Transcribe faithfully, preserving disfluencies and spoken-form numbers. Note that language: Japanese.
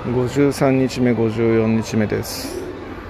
ごじゅうさんにちめごじゅうよっかめです。